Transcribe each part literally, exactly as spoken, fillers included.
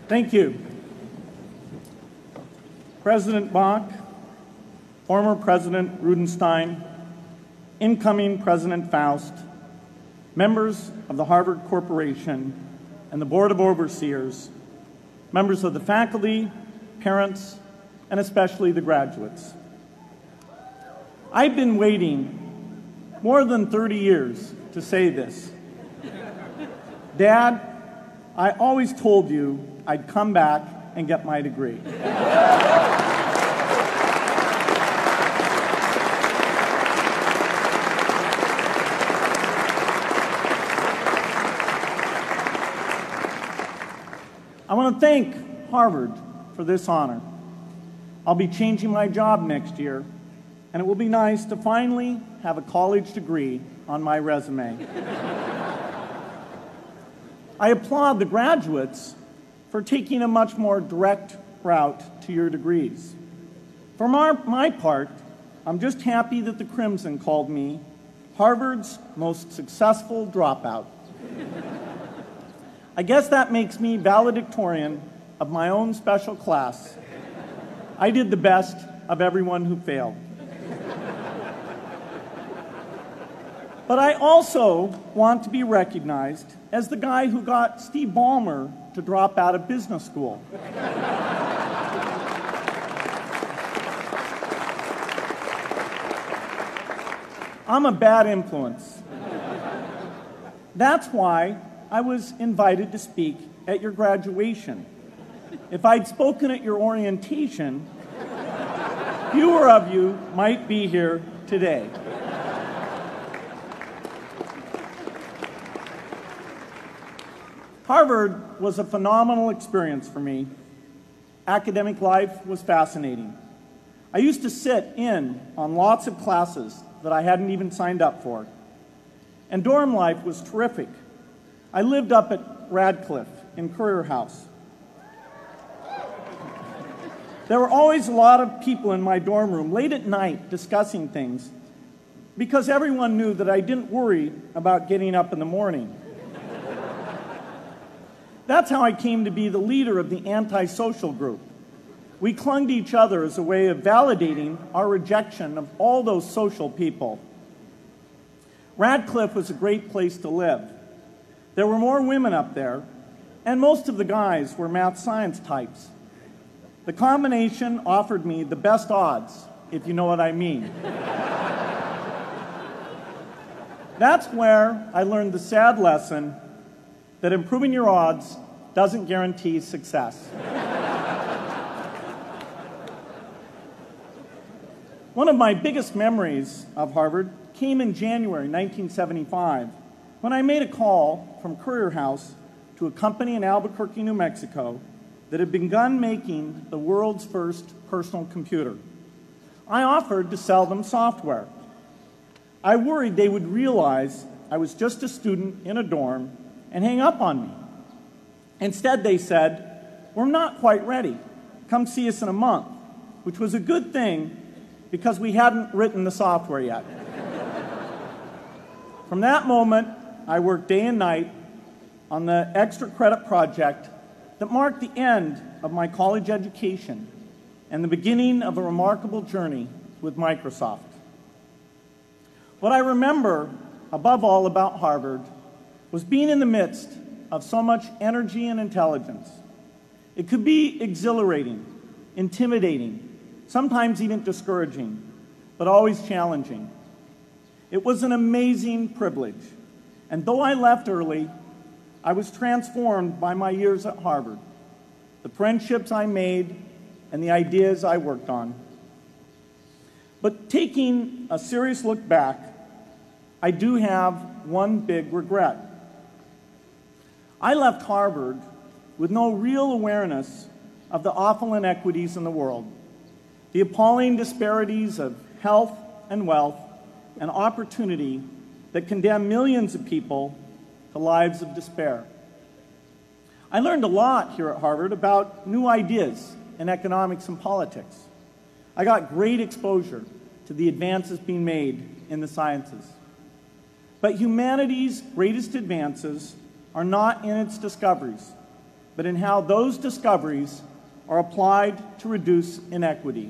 Thank you. President Bach, former President Rudenstein, incoming President Faust, members of the Harvard Corporation and the Board of Overseers, members of the faculty, parents, and especially the graduates. I've been waiting more than thirty years to say this. Dad, I always told you I'd come back and get my degree. I want to thank Harvard for this honor. I'll be changing my job next year, and it will be nice to finally have a college degree on my resume. I applaud the graduates for taking a much more direct route to your degrees. For my, my part, I'm just happy that the Crimson called me Harvard's most successful dropout. I guess that makes me valedictorian of my own special class. I did the best of everyone who failed. But I also want to be recognized as the guy who got Steve Ballmer to drop out of business school. I'm a bad influence. That's why I was invited to speak at your graduation. If I'd spoken at your orientation, fewer of you might be here today. Harvard was a phenomenal experience for me. Academic life was fascinating. I used to sit in on lots of classes that I hadn't even signed up for. And dorm life was terrific. I lived up at Radcliffe in Currier House. There were always a lot of people in my dorm room late at night discussing things because everyone knew that I didn't worry about getting up in the morning. That's how I came to be the leader of the antisocial group. We clung to each other as a way of validating our rejection of all those social people. Radcliffe was a great place to live. There were more women up there, and most of the guys were math science types. The combination offered me the best odds, if you know what I mean. That's where I learned the sad lesson that improving your odds doesn't guarantee success. One of my biggest memories of Harvard came in January nineteen seventy-five, when I made a call from Currier House to a company in Albuquerque, New Mexico, that had begun making the world's first personal computer. I offered to sell them software. I worried they would realize I was just a student in a dorm and hang up on me. Instead, they said, "We're not quite ready. Come see us in a month," which was a good thing because we hadn't written the software yet. From that moment, I worked day and night on the extra credit project that marked the end of my college education and the beginning of a remarkable journey with Microsoft. What I remember above all about Harvard was being in the midst of so much energy and intelligence. It could be exhilarating, intimidating, sometimes even discouraging, but always challenging. It was an amazing privilege, and though I left early, I was transformed by my years at Harvard, the friendships I made, and the ideas I worked on. But taking a serious look back, I do have one big regret. I left Harvard with no real awareness of the awful inequities in the world, the appalling disparities of health and wealth and opportunity that condemn millions of people to lives of despair. I learned a lot here at Harvard about new ideas in economics and politics. I got great exposure to the advances being made in the sciences. But humanity's greatest advances are not in its discoveries, but in how those discoveries are applied to reduce inequity.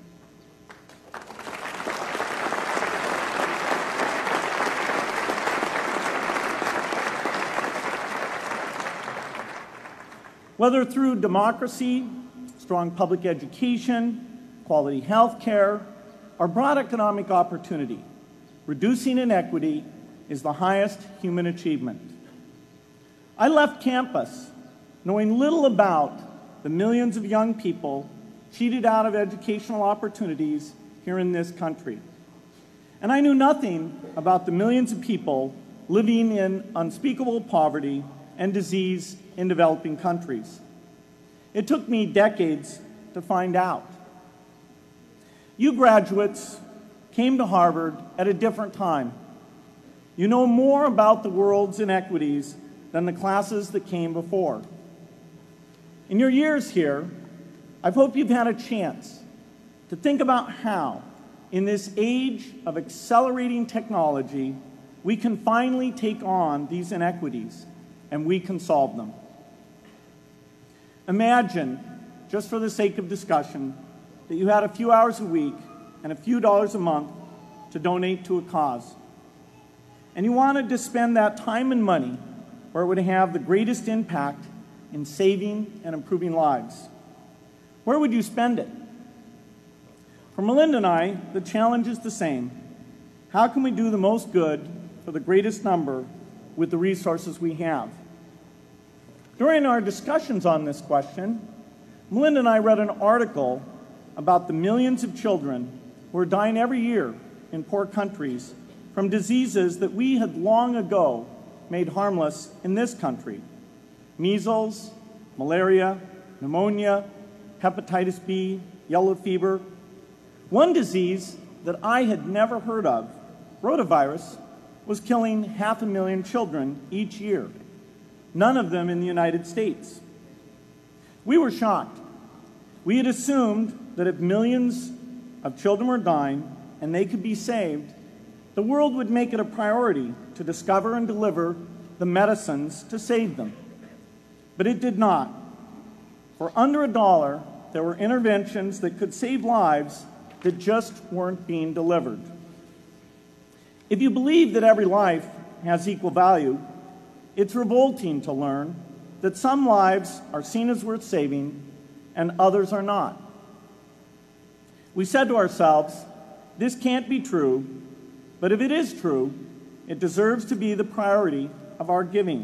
Whether through democracy, strong public education, quality health care, or broad economic opportunity, reducing inequity is the highest human achievement. I left campus knowing little about the millions of young people cheated out of educational opportunities here in this country. And I knew nothing about the millions of people living in unspeakable poverty and disease in developing countries. It took me decades to find out. You graduates came to Harvard at a different time. You know more about the world's inequities than the classes that came before. In your years here, I hope you've had a chance to think about how, in this age of accelerating technology, we can finally take on these inequities and we can solve them. Imagine, just for the sake of discussion, that you had a few hours a week and a few dollars a month to donate to a cause. And you wanted to spend that time and money where it would have the greatest impact in saving and improving lives. Where would you spend it? For Melinda and I, the challenge is the same. How can we do the most good for the greatest number with the resources we have? During our discussions on this question, Melinda and I read an article about the millions of children who are dying every year in poor countries from diseases that we had long ago made harmless in this country: measles, malaria, pneumonia, hepatitis B, yellow fever. One disease that I had never heard of, rotavirus, was killing half a million children each year, none of them in the United States. We were shocked. We had assumed that if millions of children were dying and they could be saved, the world would make it a priority to discover and deliver the medicines to save them. But it did not. For under a dollar, there were interventions that could save lives that just weren't being delivered. If you believe that every life has equal value, it's revolting to learn that some lives are seen as worth saving and others are not. We said to ourselves, this can't be true, but if it is true, it deserves to be the priority of our giving.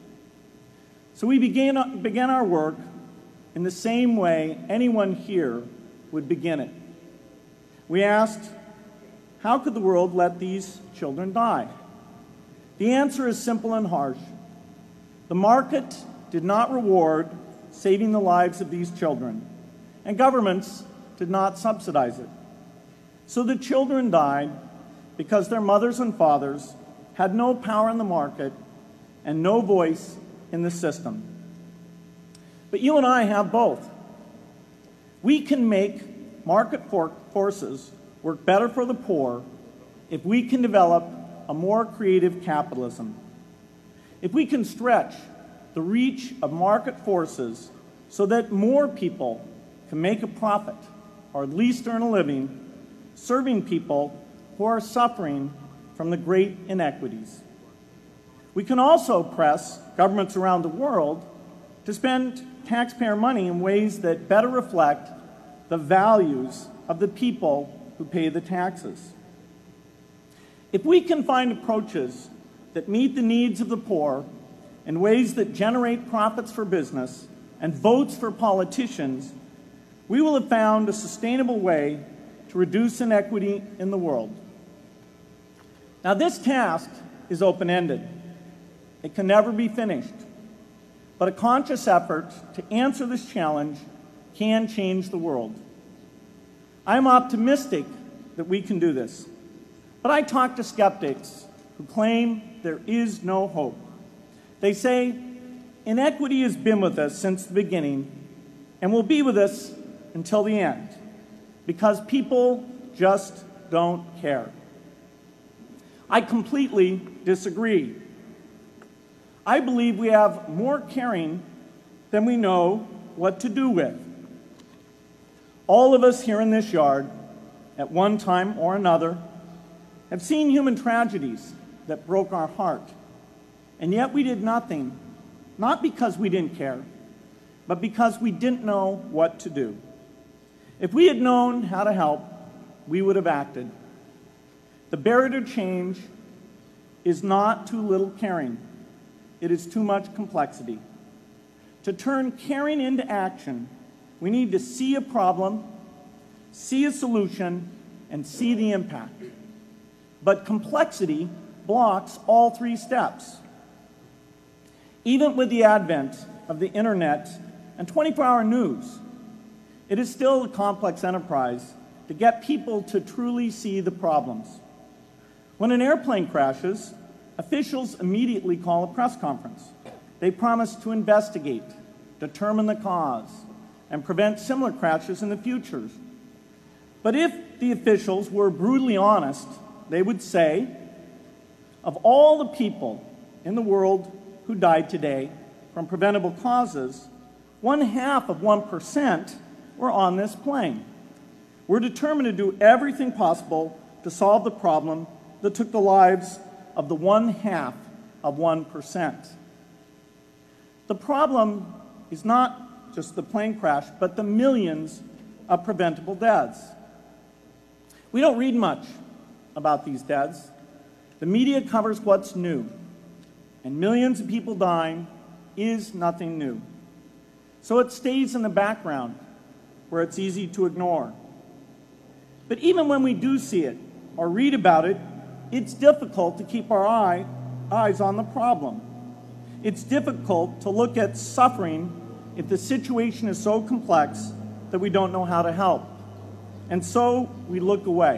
So we began, began our work in the same way anyone here would begin it. We asked, how could the world let these children die? The answer is simple and harsh. The market did not reward saving the lives of these children, and governments did not subsidize it. So the children died because their mothers and fathers had no power in the market and no voice in the system. But you and I have both. We can make market for forces work better for the poor if we can develop a more creative capitalism. If we can stretch the reach of market forces so that more people can make a profit, or at least earn a living, serving people who are suffering from the great inequities. We can also press governments around the world to spend taxpayer money in ways that better reflect the values of the people who pay the taxes. If we can find approaches that meet the needs of the poor in ways that generate profits for business and votes for politicians, we will have found a sustainable way to reduce inequity in the world. Now, this task is open-ended. It can never be finished. But a conscious effort to answer this challenge can change the world. I'm optimistic that we can do this. But I talk to skeptics who claim there is no hope. They say, inequity has been with us since the beginning and will be with us until the end, because people just don't care. I completely disagree. I believe we have more caring than we know what to do with. All of us here in this yard, at one time or another, have seen human tragedies that broke our heart, and yet we did nothing, not because we didn't care, but because we didn't know what to do. If we had known how to help, we would have acted. The barrier to change is not too little caring. It is too much complexity. To turn caring into action, we need to see a problem, see a solution, and see the impact. But complexity blocks all three steps. Even with the advent of the internet and twenty-four hour news, it is still a complex enterprise to get people to truly see the problems. When an airplane crashes, officials immediately call a press conference. They promise to investigate, determine the cause, and prevent similar crashes in the future. But if the officials were brutally honest, they would say, of all the people in the world who died today from preventable causes, one half of one percent were on this plane. We're determined to do everything possible to solve the problem that took the lives of the one half of one percent. The problem is not just the plane crash, but the millions of preventable deaths. We don't read much about these deaths. The media covers what's new, and millions of people dying is nothing new. So it stays in the background where it's easy to ignore. But even when we do see it or read about it, it's difficult to keep our eye, eyes on the problem. It's difficult to look at suffering if the situation is so complex that we don't know how to help. And so we look away.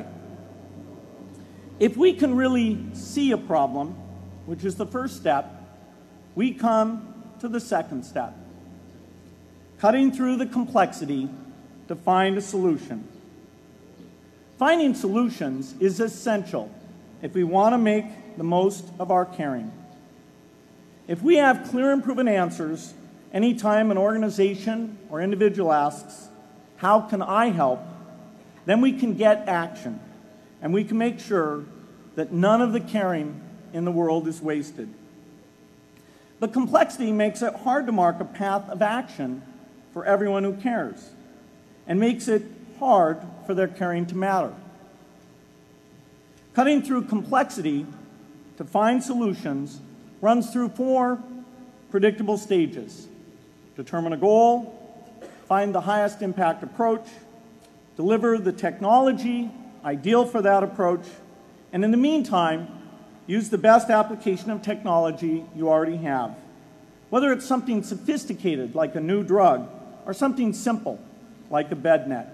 If we can really see a problem, which is the first step, we come to the second step, cutting through the complexity to find a solution. Finding solutions is essential if we want to make the most of our caring. If we have clear and proven answers anytime an organization or individual asks, how can I help? Then we can get action, and we can make sure that none of the caring in the world is wasted. But complexity makes it hard to mark a path of action for everyone who cares, and makes it hard for their caring to matter. Cutting through complexity to find solutions runs through four predictable stages: determine a goal, find the highest impact approach, deliver the technology ideal for that approach, and in the meantime, use the best application of technology you already have, whether it's something sophisticated like a new drug or something simple like a bed net.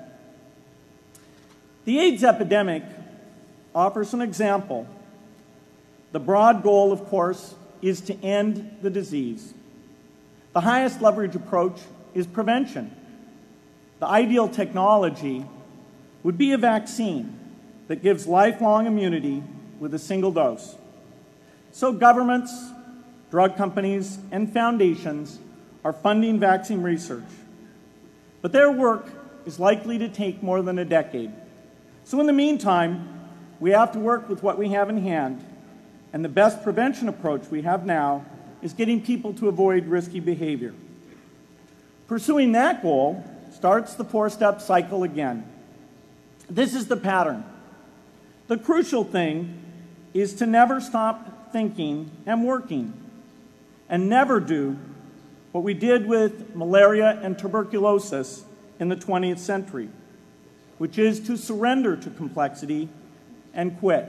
The AIDS epidemic offers an example. The broad goal, of course, is to end the disease. The highest leverage approach is prevention. The ideal technology would be a vaccine that gives lifelong immunity with a single dose. So governments, drug companies, and foundations are funding vaccine research. But their work is likely to take more than a decade. So in the meantime, we have to work with what we have in hand, and the best prevention approach we have now is getting people to avoid risky behavior. Pursuing that goal starts the four-step cycle again. This is the pattern. The crucial thing is to never stop thinking and working, and never do what we did with malaria and tuberculosis in the twentieth century, which is to surrender to complexity and quit.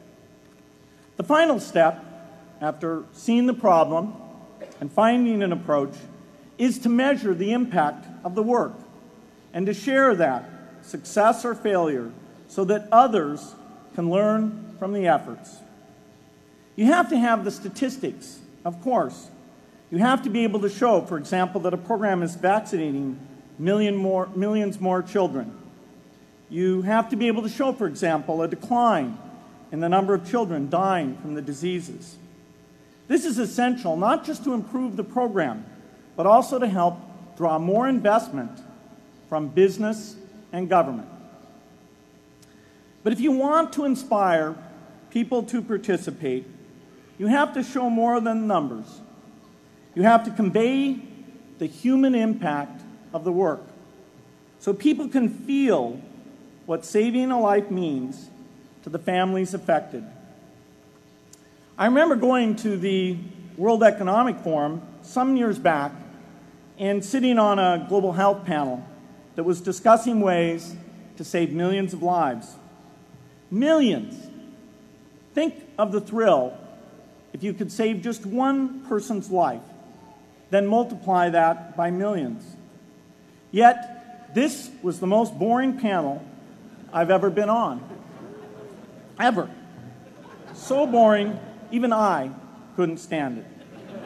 The final step, after seeing the problem and finding an approach, is to measure the impact of the work and to share that, success or failure, so that others can learn from the efforts. You have to have the statistics, of course. You have to be able to show, for example, that a program is vaccinating million more, millions more children. You have to be able to show, for example, a decline in the number of children dying from the diseases. This is essential not just to improve the program, but also to help draw more investment from business and government. But if you want to inspire people to participate, you have to show more than numbers. You have to convey the human impact of the work so people can feel what saving a life means to the families affected. I remember going to the World Economic Forum some years back and sitting on a global health panel that was discussing ways to save millions of lives. Millions. Think of the thrill if you could save just one person's life, then multiply that by millions. Yet, this was the most boring panel I've ever been on. Ever. So boring, even I couldn't stand it.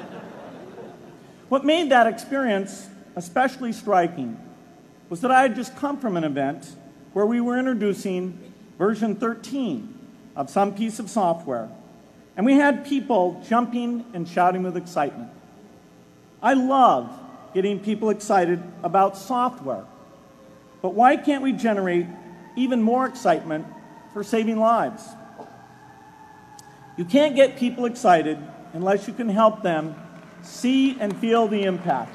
What made that experience especially striking was that I had just come from an event where we were introducing version thirteen of some piece of software, and we had people jumping and shouting with excitement. I love getting people excited about software, but why can't we generate even more excitement for saving lives? You can't get people excited unless you can help them see and feel the impact.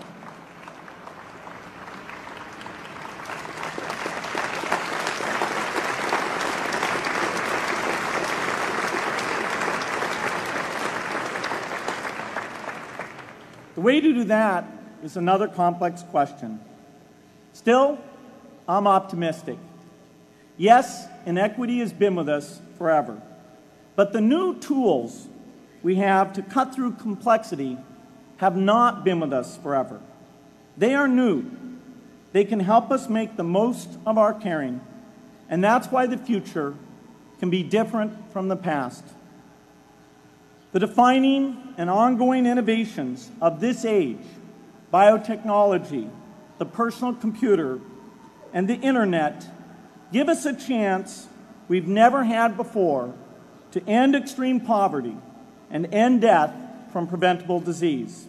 The way to do that is another complex question. Still, I'm optimistic. Yes, inequity has been with us forever, but the new tools we have to cut through complexity have not been with us forever. They are new. They can help us make the most of our caring, and that's why the future can be different from the past. The defining and ongoing innovations of this age, biotechnology, the personal computer, and the internet, give us a chance we've never had before to end extreme poverty and end death from preventable disease.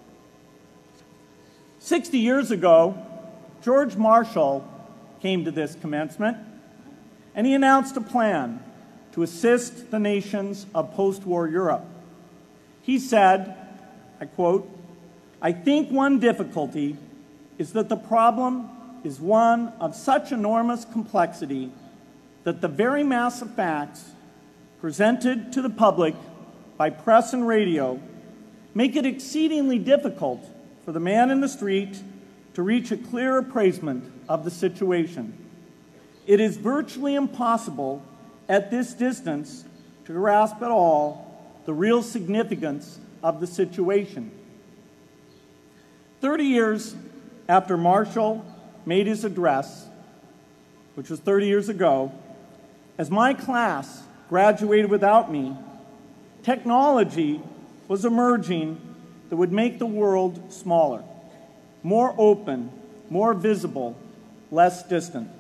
Sixty years ago, George Marshall came to this commencement, and he announced a plan to assist the nations of post-war Europe. He said, I quote, "I think one difficulty is that the problem is one of such enormous complexity that the very mass of facts presented to the public by press and radio make it exceedingly difficult for the man in the street to reach a clear appraisement of the situation. It is virtually impossible at this distance to grasp at all the real significance of the situation." Thirty years after Marshall made his address, which was thirty years ago, as my class graduated without me, technology was emerging that would make the world smaller, more open, more visible, less distant.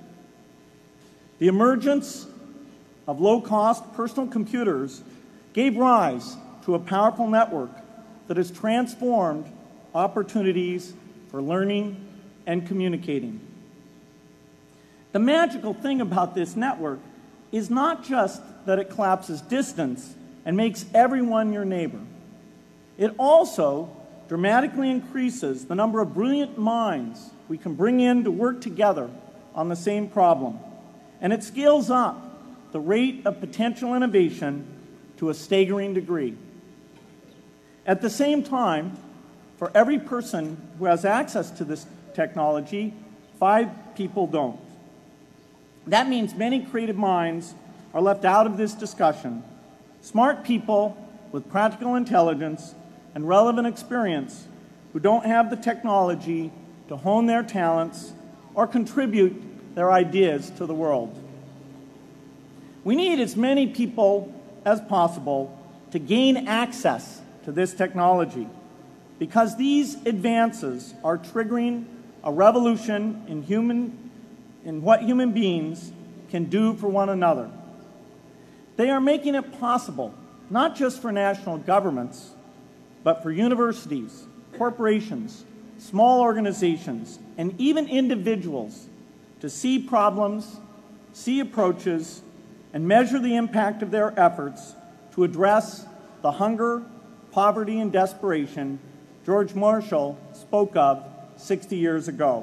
The emergence of low-cost personal computers gave rise to a powerful network that has transformed opportunities for learning and communicating. The magical thing about this network is not just that it collapses distance and makes everyone your neighbor. It also dramatically increases the number of brilliant minds we can bring in to work together on the same problem. And it scales up the rate of potential innovation to a staggering degree. At the same time, for every person who has access to this technology, five people don't. That means many creative minds are left out of this discussion. Smart people with practical intelligence and relevant experience who don't have the technology to hone their talents or contribute their ideas to the world. We need as many people as possible to gain access to this technology because these advances are triggering a revolution in human in what human beings can do for one another. They are making it possible, not just for national governments, but for universities, corporations, small organizations, and even individuals to see problems, see approaches, and measure the impact of their efforts to address the hunger, poverty, and desperation George Marshall spoke of sixty years ago.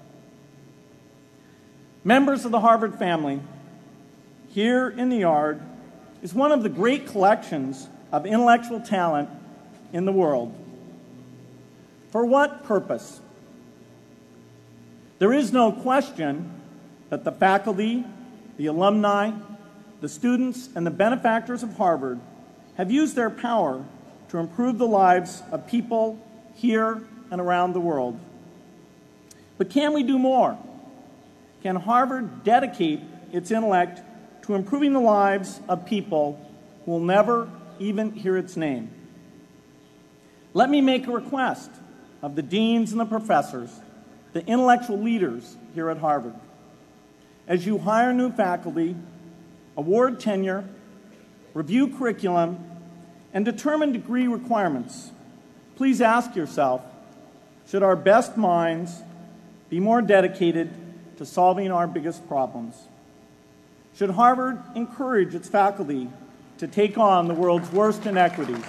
Members of the Harvard family, here in the Yard is one of the great collections of intellectual talent in the world. For what purpose? There is no question that the faculty, the alumni, the students, and the benefactors of Harvard have used their power to improve the lives of people here and around the world. But can we do more? Can Harvard dedicate its intellect to improving the lives of people who will never even hear its name? Let me make a request of the deans and the professors, the intellectual leaders here at Harvard. As you hire new faculty, award tenure, review curriculum, and determine degree requirements, please ask yourself, should our best minds be more dedicated to solving our biggest problems? Should Harvard encourage its faculty to take on the world's worst inequities?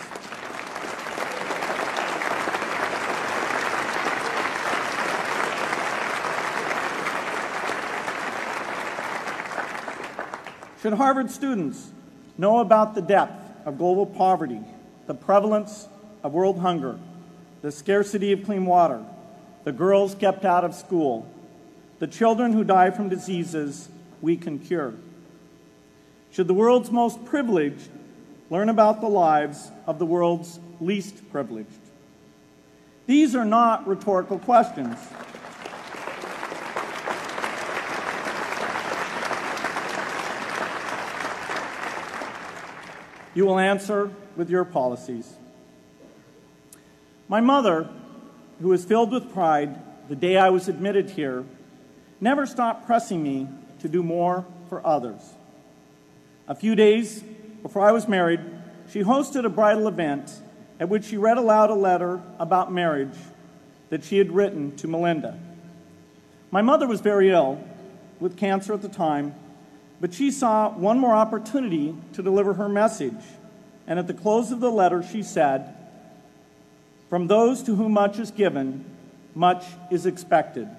Should Harvard students know about the depth of global poverty, the prevalence of world hunger, the scarcity of clean water, the girls kept out of school, the children who die from diseases we can cure? Should the world's most privileged learn about the lives of the world's least privileged? These are not rhetorical questions. You will answer with your policies. My mother, who was filled with pride the day I was admitted here, never stopped pressing me to do more for others. A few days before I was married, she hosted a bridal event at which she read aloud a letter about marriage that she had written to Melinda. My mother was very ill, with cancer at the time, but she saw one more opportunity to deliver her message, and at the close of the letter she said, "From those to whom much is given, much is expected."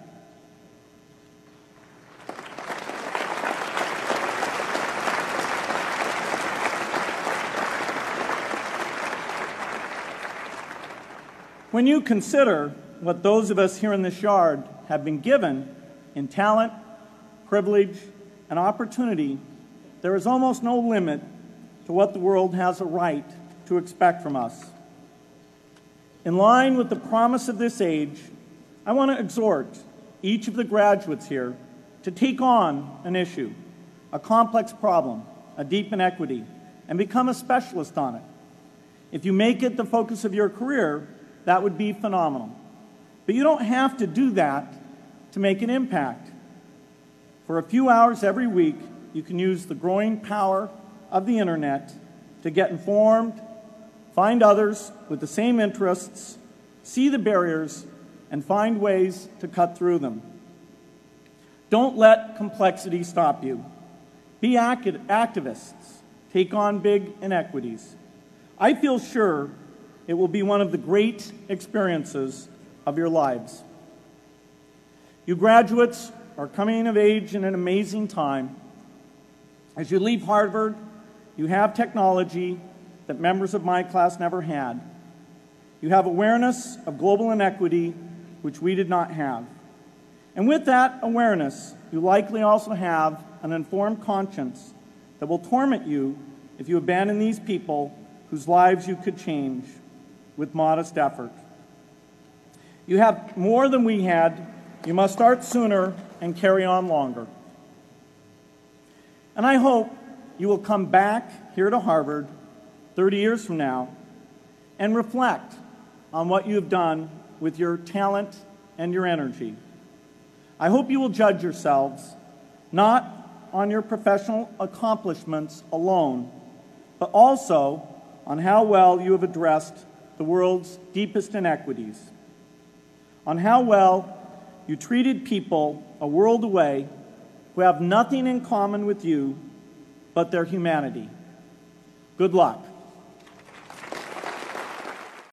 When you consider what those of us here in this yard have been given in talent, privilege, and opportunity, there is almost no limit to what the world has a right to expect from us. In line with the promise of this age, I want to exhort each of the graduates here to take on an issue, a complex problem, a deep inequity, and become a specialist on it. If you make it the focus of your career, that would be phenomenal. But you don't have to do that to make an impact. For a few hours every week, you can use the growing power of the internet to get informed, find others with the same interests, see the barriers, and find ways to cut through them. Don't let complexity stop you. Be acti- activists. Take on big inequities. I feel sure it will be one of the great experiences of your lives. You graduates are coming of age in an amazing time. As you leave Harvard, you have technology that members of my class never had. You have awareness of global inequity, which we did not have. And with that awareness, you likely also have an informed conscience that will torment you if you abandon these people whose lives you could change with modest effort. You have more than we had. You must start sooner and carry on longer. And I hope you will come back here to Harvard thirty years from now and reflect on what you have done with your talent and your energy. I hope you will judge yourselves not on your professional accomplishments alone, but also on how well you have addressed the world's deepest inequities. on how well you treated people a world away who have nothing in common with you but their humanity. Good luck.